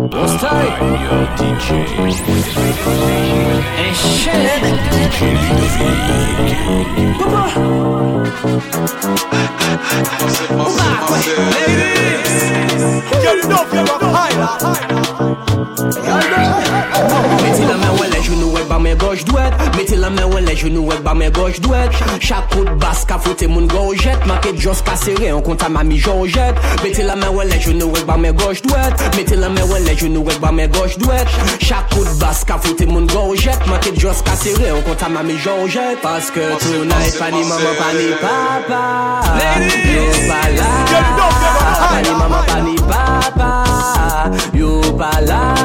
What's time? Yo, DJ. And shit. DJ Ludovic. Papa. Ladies. Get enough, you're mettez la main ouais les genoux ouais bas mes gauche douette. Mettez la main ouais les genoux ouais bas mes gauche douette. Chaque coup de basse qu'a fouté mon gorgette. Marqué Joss serré on compte à mamie Georgette. Mettez la main ouais les genoux ouais bas mes gauche douette. Mettez la main ouais les genoux ouais bas mes gauche douette. Chaque coup de basse qu'a fouté mon gorgette. Marqué Joss serré on compte à mamie Georgette. Parce que tonight pas ni maman pas ni papa. Yo pas là. Pas ni maman pas ni papa. Yo pas là.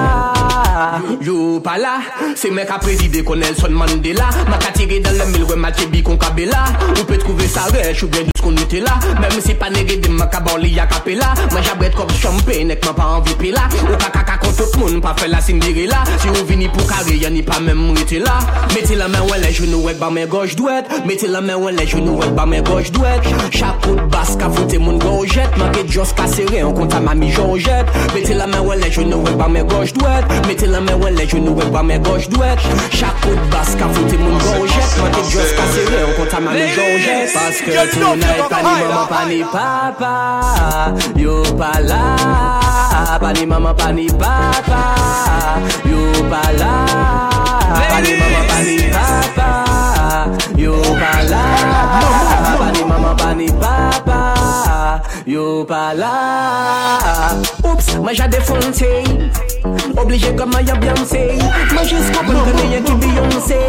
Yo pas là, c'est mec à présider qu'on Nelson Mandela. M'a qu'à tirer dans le mille, ouais, m'a tirer qu'on cabella. On peut trouver ça riche ou bien tout ce qu'on était là. Même si pas négué de ma cabali y'a capella. Moi j'abrette comme champagne, n'est m'a pas envie de là. Ou caca contre tout le monde, pas faire la Cinderella. Si on vini pour carré, y'a ni pas même m'arrêter là. Mettez la main, ouais, les genoux, ouais, bas mes gauche douette. Mettez la main, ouais, les genoux, ouais, bas mes gauche douette. Chaque coup de basse qu'a fouté mon gorgette. Marqué Joss serré, on compte à mamie Georgette. Mettez la main, ouais, les genoux, ouais, bas mes gauche douette. Mettez la main, ouais, les genoux, ouais, bas mes gauche douette. Chaque coup de basse qu'a fouté mon gorgette. Marqué Joss serré, on compte à mamie Georgette. Parce que tonight, pas ni maman, pas ni papa. Yo pas là. Pas ni maman, pas ni papa. Yo pas là. Pas ni maman, pas ni papa. Yo pas là. Pas ni maman, pas ni papa. Yo pas là. Oups, moi j'ai défoncé. Obligé comme y'a Beyoncé. Moi juste comprends que y'a qui Beyoncé.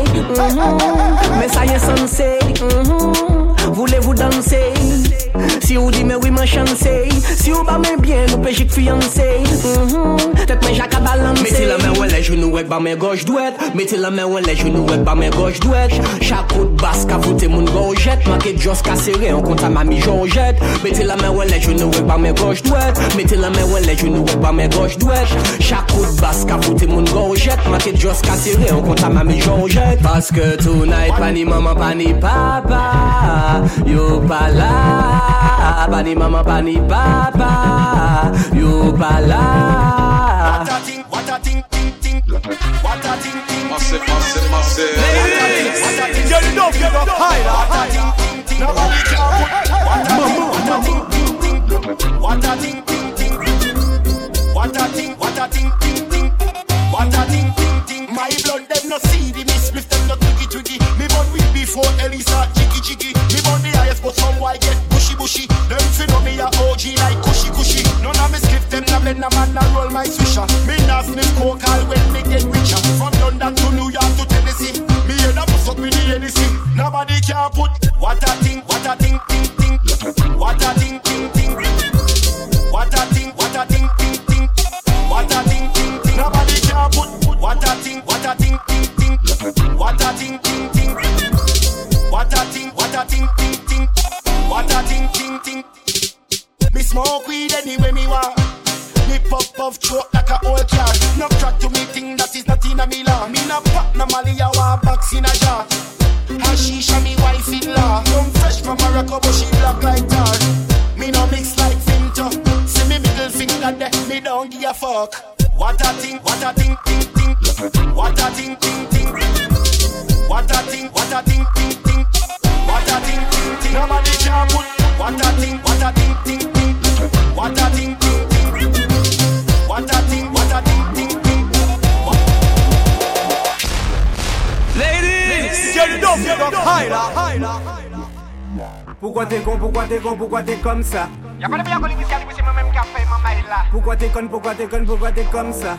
Mais ça y est censé. Voulez-vous danser? Si vous dites mais oui ma chance. Si vous m'aimez bien, nous péché de fiancé. Tête mais j'acca balancer. Mettez la main ouais les genoux ouais bas mes gauche douette. Mettez la main ouais les genoux ouais bas mes gauche douette. Chaque coup de basse qu'a fouté mon gorgette. Marqué Joss serré on compte à mamie Georgette. Mettez la main ouais les genoux ouais bas mes gauche douette. Mettez la main ouais les genoux ouais bas mes gauche douette. Chaque coup de basse qu'a fouté mon gorgette. Marqué Joss serré on compte à mamie Georgette. Parce que tonight pas ni maman pas ni papa. Yo pas là. Pas ni maman pas ni papa. Yo pas là. What a ting ting ting. What a ting ting. Massive. Ladies, you don't give up high. What a ting ting ting. Nobody can put. What a ting ting ting. What a ting ting ting. What a ting ting ting. What a ting ting ting. My blood them no see the miss with them no twiggy. Me born with before Elisa chicky. Me born the highest but some white get bushy. Them fi know me a OG like cushy. None of me skip them na blend a man na roll my swisher. Me na sniff coke all when me get richer. From London to New York to Tennessee. Me head up fuck with the NEC. Nobody can put. What a ting ting ting. What a ting ting ting. What a ting ting ting. What a ting ting ting. Nobody can put. What a ting ting ting. What a ting ting ting. What a ting ting ting. What a ting ting ting. Me smoke weed anyway me want. Me puff throat like a old car. No crack to me thing that is not in a me law. Me no pop no Mali I want box in a jar. Hashisha me wife in law. Come fresh from Morocco but she black like tar. Me no mix like Finto. See me middle finger there, me don't give a fuck. What a ting ting ting. What a ting ting ting. What a ting ting ting. What a ting ting ting. Nobody can put. What a ting ting ting. What a ting ting ting. What a ting ting. Ladies, you don't give up high. Pourquoi t'es con, pourquoi t'es comme ça? Y'a pas de bien qu'on dit c'est moi-même qui a fait ma mail là. Pourquoi t'es con, pourquoi t'es comme ça?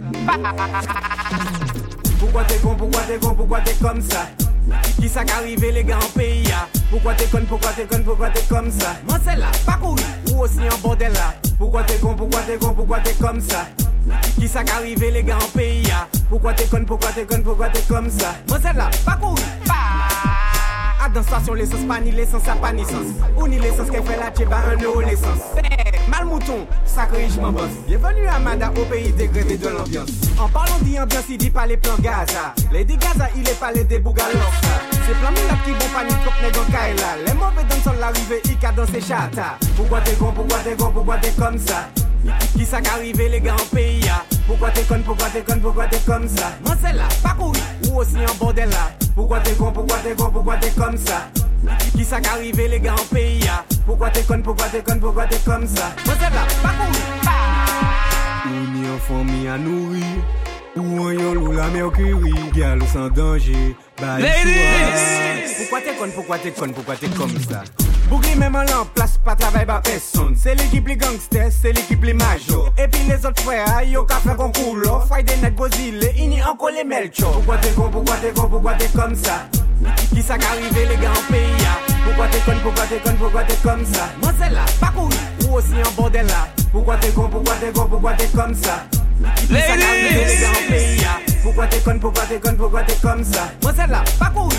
Pourquoi t'es comme ça? Qui ça qu'arrivé les gars en pays ya? Pourquoi t'es con, pourquoi t'es comme ça? Moi c'est là, pas courir, ou aussi en bordel là. Pourquoi t'es t'es comme ça? Qui ça qu'arrivé les gars en pays ya? Pourquoi t'es con, pourquoi t'es comme ça? Moi c'est là, pas courir, à dans station l'essence, pas ni l'essence, ça pas ni sens. Ou ni l'essence qu'elle fait la tchéba, 1 euro l'essence. Mal mouton, sacré je m'en bosse. Bienvenue à Mada, au pays dégradé de l'ambiance. En parlant d'ambiance, il dit pas les plans Gaza. Les dégâts, il est pas les débougalons. C'est plein de qui vont panique comme les gants Kaila. Les mauvais dansent l'arrivée, ils cadent dans ses chata. Pourquoi t'es con, pourquoi t'es comme ça? Qui ça qu'arrivé les gars en pays ya? Pourquoi t'es conne, pourquoi t'es conne, pourquoi t'es comme ça? Moi c'est là, pas courir, ou aussi en bordel là. Pourquoi t'es con, pourquoi t'es con, pourquoi t'es comme ça? Qui ça qu'arrive les gars en pays ya? Pourquoi t'es conne, pourquoi t'es conne, pourquoi t'es comme ça? Moi c'est là, pas courir. Ou ni enfant mi à nourrir, ou un yon ou la mercury, gal sans danger. Ladies! Pourquoi t'es conne, pourquoi t'es conne, pourquoi t'es comme ça? Bougli même en place, pas travail par personne. C'est l'équipe les gangsters, c'est l'équipe les majors. Et puis les autres frères, yo ka fait concours. Friday night Gozile, ini encore les melcho. Pourquoi t'es con, pourquoi t'es con, pourquoi t'es comme ça? Qui ça qu'arrive les gars en pays ya? Pourquoi t'es conne, pourquoi t'es conne, pourquoi t'es comme ça? Moi c'est là, pas courir, ou aussi en bordel là. Pourquoi t'es con, pourquoi t'es con, pourquoi t'es comme ça? Qui ça qu'arrive les gars en pays ya? Pourquoi t'es conne, pourquoi t'es conne, pourquoi t'es comme ça? Moi c'est là, pas courir,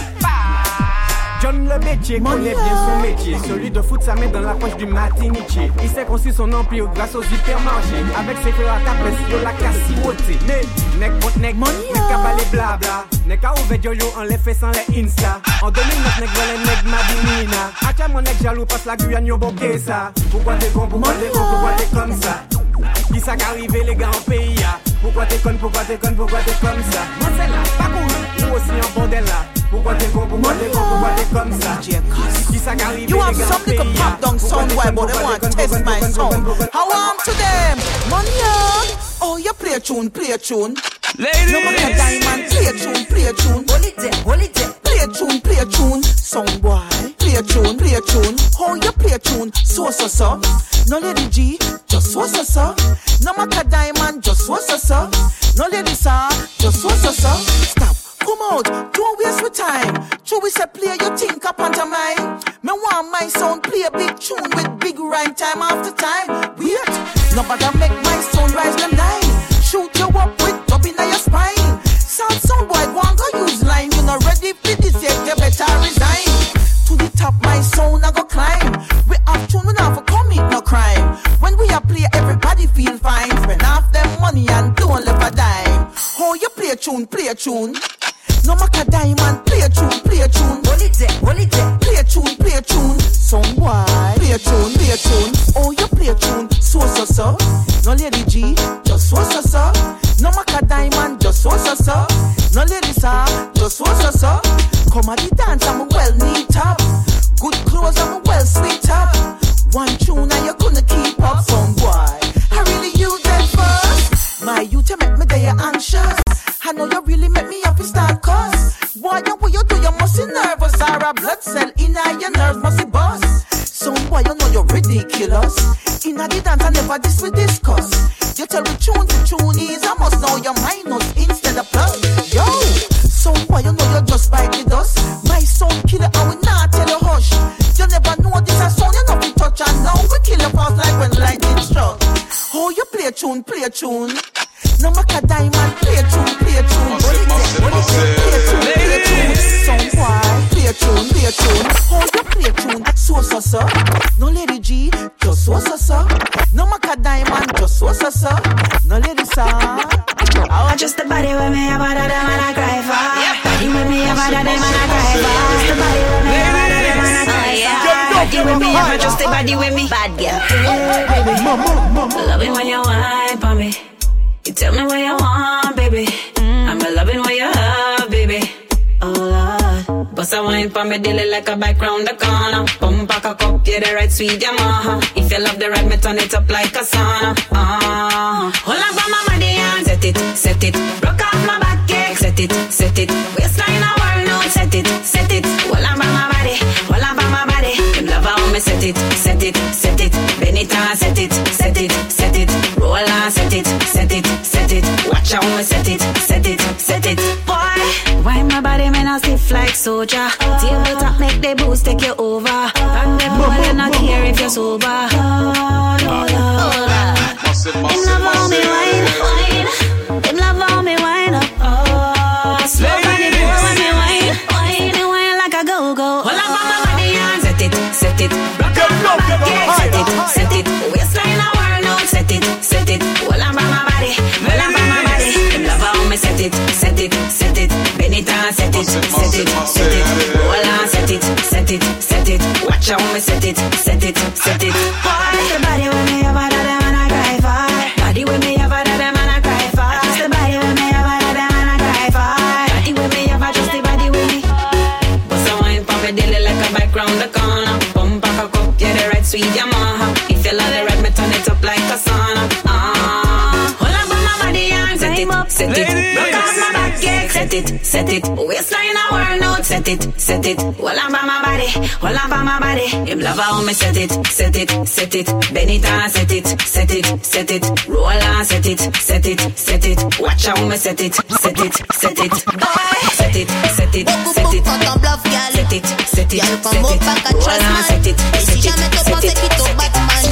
John le métier connaît bien son métier. Celui de foutre sa main dans la poche du matiniché. Il s'est construit son empire grâce aux hypermarchés. Avec ses frères à tapes sur la casse-beauté. Mais, nec contre nec, nec à balai blabla. Nec à ouvert yo en les fait sans les Insta. En 2009, nec volé nec madinina. Acha mon nec jaloux passe la Guyane yo bokeh ça. Pourquoi t'es con, pourquoi t'es con, pourquoi t'es comme ça? Qui ça qu'arrive les gars en pays ya? Pourquoi t'es conne, pourquoi t'es conne, pourquoi t'es comme ça? Moi c'est là, pas cool, ou aussi en bordel là. Pourquoi t'es con, pourquoi t'es con, pourquoi t'es comme ça? Qui ça qu'arrive les gars en pays ya? You have some little pop down sound why, but they want to test my sound. How am to them? Money, oh you play a tune, play a tune. Ladies! No matter diamond, play a tune, play a tune. Hold it there, hold it there. Play a tune, play a tune. Sound boy, play a tune, play a tune. How you play a tune? So. No lady G, just so. No matter diamond, just so. No lady sir, just so. Stop, come out, don't waste my time. True we say play your think up on mine. Me want my sound play a big tune with big rhyme time after time. Wait, nobody make my sound rise them nine. Shoot you up with up in your spine. Sound boy, go and go use line. You not ready for this yet, you better resign. To the top, my sound I go climb. We have tune, we not for commit no crime. When we are play, everybody feel fine. Spend half them money and don't leave a dime. Oh, you play a tune, play a tune. No matter diamond, play a tune, play a tune. Hold it there, hold it there. Play a tune, play a tune. Sound boy, play a tune, play a tune. Oh, you play a tune, so. No lady G, just so. No matter diamond, just so. No lady sir, just so. Come at the dance, I'm well neat up. Good clothes, I'm well sweet up. One tune and you couldn't keep up. Some boy, I really use that first. My youth, you make me day anxious. I know you really make me happy start cuss. Boy, what you do, you must be nervous. Or a blood cell in your nerves must be bust. Some boy, you know you're ridiculous. In the dance, I never this we discuss. You tell me tune to tune is, I must know your minus instead of plus. Yo, some boy, you know you just bite the dust. My sound killer, I will not tell you hush. You never know this a sound, you know we touch. And now we kill your fast like when lightning struck. Oh, you play a tune, play a tune. No matter diamond, play a tune, play a tune. Play a tune, play a tune. Some boy, play a tune, play a tune. Oh, you play a tune, so. No lady G, just so. No matter diamond, just so. No lady sir. Oh, just the body with me, about that man I cry for. Body with me, about that man I cry for. Just the body with me, about that man I cry for. Body with me, about just the body with me. Bad girl. Love it when you whine for me. You tell me what you want, baby. I'm loving what you have, baby. Oh Lord, bust a wine for me, daily like a bike round the corner. Pump back a cup, yeah, the right sweet Yamaha. If you love the ride, me turn it up like a sauna. Hold on for my body and set it. Broke off my back, yeah, set it. Waistline a world now, set it. Hold on for my body, hold on for my body. Them love how me set it. Bend it and set it. Roll and set it. Watch how me set it. Boy, why my body man a stiff like soldier. Table top make the boost take you over. And them boy they not care if you're sober. Them love how me wine. Them love how me wine up. Slow body boy when me wine like a go-go. Hold on for my body and set it. Rock up my back, yeah, set it. Waistline a world now, set it. Hold on for my body. Them love how me set it. Bend it and set it. Roll and set it. Watch how me set it. Boy, the body with me, about that man I cry for. Body with me, about that man I cry for. it, set it. Waistline a world out, set it. Hold on by my body. Him love how me set it. Bend it and set it. Roll on, set it. Watch how me set it. Boy, set it. Quand on bluff, gal. Set it. Gal, comme au pack à Trustman. Et si jamais tu penses qu'il t'au Batman.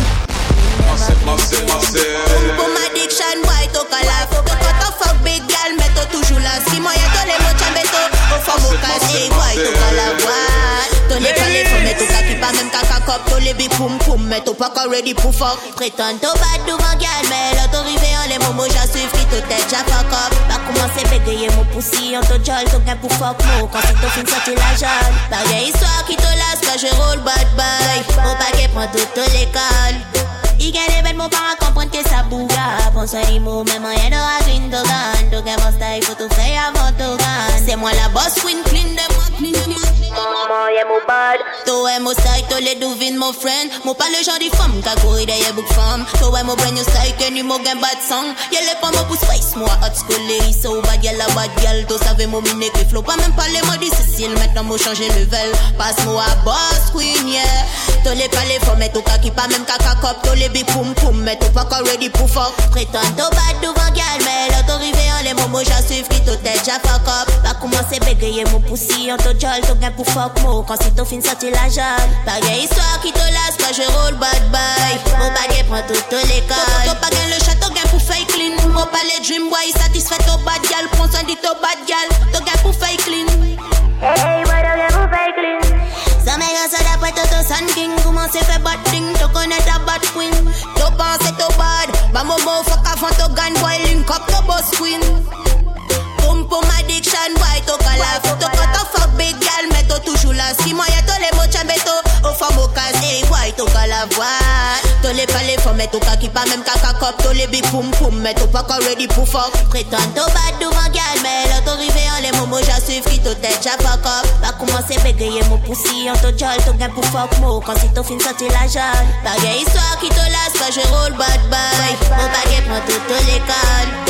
Pour ma addiction, boy, t'au calaf. Quand on fuck big gal, mais t'au toujours là. Si moi y'a tous les mots chambeto. Au fond, au casé, boy, t'au calaf. T'au les palais, faut mettre au kaki, pas même caca cop. T'au les big poum poum, mais t'au pas encore ready pour fuck. Prétends t'au bad devant gal, mais là t'au rivé en les momos, j'en suivi qui t'au tête, j'en fuck up. Pas commencer bégayer mon poussi, en t'au jol, t'au gain pour fuck mo. Quand c'est t'au fin sorti la jaune. Par des histoires qui t'au lasse, quand je roule bad boy. Mon paquet prend toute l'école. Il gagne les bêtes, mon parent comprendre que ça bouga. Pense à l'imo, même rien d'aura clean dogan. Dogan mon style, faut tout faire avant dogan. C'est moi la boss, queen, clean de moi, maman, y'a mon bad. Toi, mon style, toi les devines, mon friend. Mon pas le genre de femme, qu'a couru derrière book femme. Toi, mon brand new style, que nu mon gain bad song. Y'a les pommes pour space, moi, hot school, les so bad, y'a la bad gal. Toi, savais mon mine qui flow, pas même pas les mots difficiles. Maintenant, moi, changer level. Passe-moi à boss, queen, yeah. Toi, les palais, faut mettre au kaki, pas même caca cop. Toi, les big poum poum, mais t'es pas encore ready pour fuck. Prétends t'au bad devant gal, mais là t'au rivé en les momos, j'en suivi qui t'au tête, j'en fuck up. Pas commencer bégayer mon poussi, en t'au jol, t'au gain pour fuck mo. Quand c'est t'au fin sorti la jaune. Pas gain histoire qui te lasse, quand je roule bad boy. Mon baguette prend toute l'école. T'au pas gain le château, gain pour fake clean. Mon pas les dream boy, satisfait t'au bad gal. Prends soin de t'au bad gal, t'au gain pour fake clean. Hey, moi t'au gain pour fake clean. Ça m'a ça d'après Toto Sun King. Comment c'est fait bad thing, tu connais ta bad queen. Tu penses que t'es bad, bah momo fuck avant ton gun boy link up the boss queen. Boom boom addiction boy, tu calaf. Tu quand tu fuck big gal, mais tu toujours là. Si moi y'a tous les mots chambeto, au fond au casé boy, tu calaf. Tu les palais, faut mettre au kaki, pas même caca cop. Tu les big poum poum, mais tu pas encore ready pour fuck. Prétends t'es bad devant gal, mais là tu rivé en les momos, j'en suivi qui t'au tête, j'en fuck up. Pas commencer bégayer mon poussi, en t'au jol, t'au gain pour fuck mo. Quand c'est t'au fin sorti la jaune. Pas gain histoire qui te lasse, quand je roule bad boy. Mon baguette prend toute l'école.